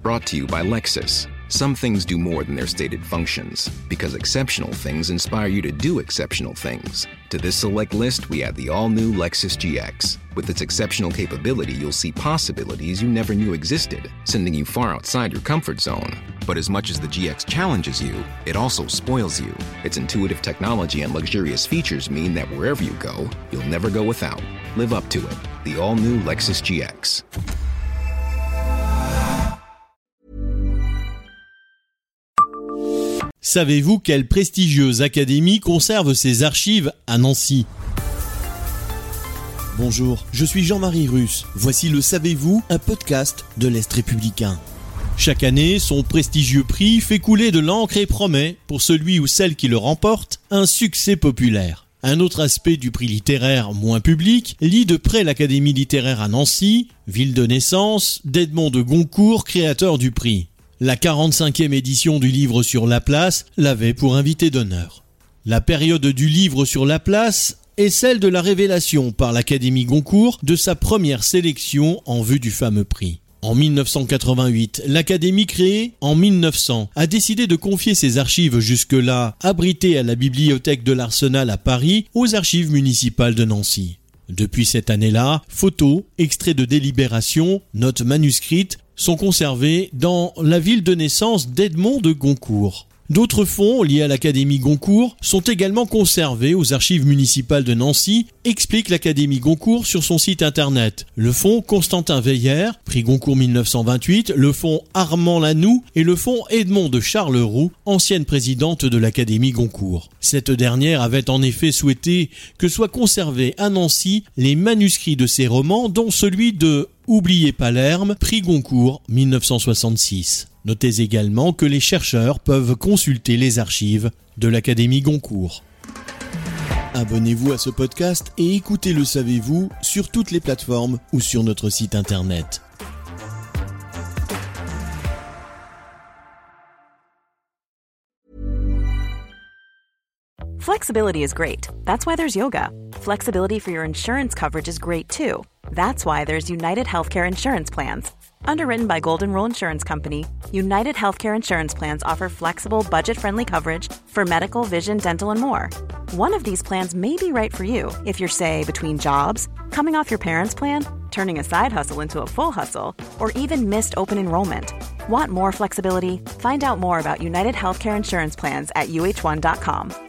Brought to you by Lexus. Some things do more than their stated functions, because exceptional things inspire you to do exceptional things. To this select list, we add the all-new Lexus GX. With its exceptional capability, you'll see possibilities you never knew existed, sending you far outside your comfort zone. But as much as the GX challenges you, it also spoils you. Its intuitive technology and luxurious features mean that wherever you go, you'll never go without. Live up to it. The all-new Lexus GX. Savez-vous quelle prestigieuse académie conserve ses archives à Nancy ? Bonjour, je suis Jean-Marie Russe. Voici le Savez-vous, un podcast de l'Est républicain. Chaque année, son prestigieux prix fait couler de l'encre et promet, pour celui ou celle qui le remporte, un succès populaire. Un autre aspect du prix littéraire moins public lie de près l'Académie littéraire à Nancy, ville de naissance d'Edmond de Goncourt, créateur du prix. La 45e édition du livre sur Laplace l'avait pour invité d'honneur. La période du livre sur Laplace est celle de la révélation par l'Académie Goncourt de sa première sélection en vue du fameux prix. En 1988, l'Académie créée en 1900 a décidé de confier ses archives jusque-là abritées à la bibliothèque de l'Arsenal à Paris aux archives municipales de Nancy. Depuis cette année-là, photos, extraits de délibérations, notes manuscrites sont conservés dans la ville de naissance d'Edmond de Goncourt. D'autres fonds liés à l'Académie Goncourt sont également conservés aux archives municipales de Nancy, explique l'Académie Goncourt sur son site internet. Le fonds Constantin Veillère, prix Goncourt 1928, le fonds Armand Lanoux et le fonds Edmond de Charleroux, ancienne présidente de l'Académie Goncourt. Cette dernière avait en effet souhaité que soient conservés à Nancy les manuscrits de ses romans, dont celui de Oubliez Palerme, prix Goncourt 1966. Notez également que les chercheurs peuvent consulter les archives de l'Académie Goncourt. Abonnez-vous à ce podcast et écoutez Le Savez-vous sur toutes les plateformes ou sur notre site internet. Flexibility is great. That's why there's yoga. Flexibility for your insurance coverage is great too. That's why there's United Healthcare Insurance Plans. Underwritten by Golden Rule Insurance Company, United Healthcare Insurance Plans offer flexible, budget-friendly coverage for medical, vision, dental, and more. One of these plans may be right for you if you're, say, between jobs, coming off your parents' plan, turning a side hustle into a full hustle, or even missed open enrollment. Want more flexibility? Find out more about United Healthcare Insurance Plans at uh1.com.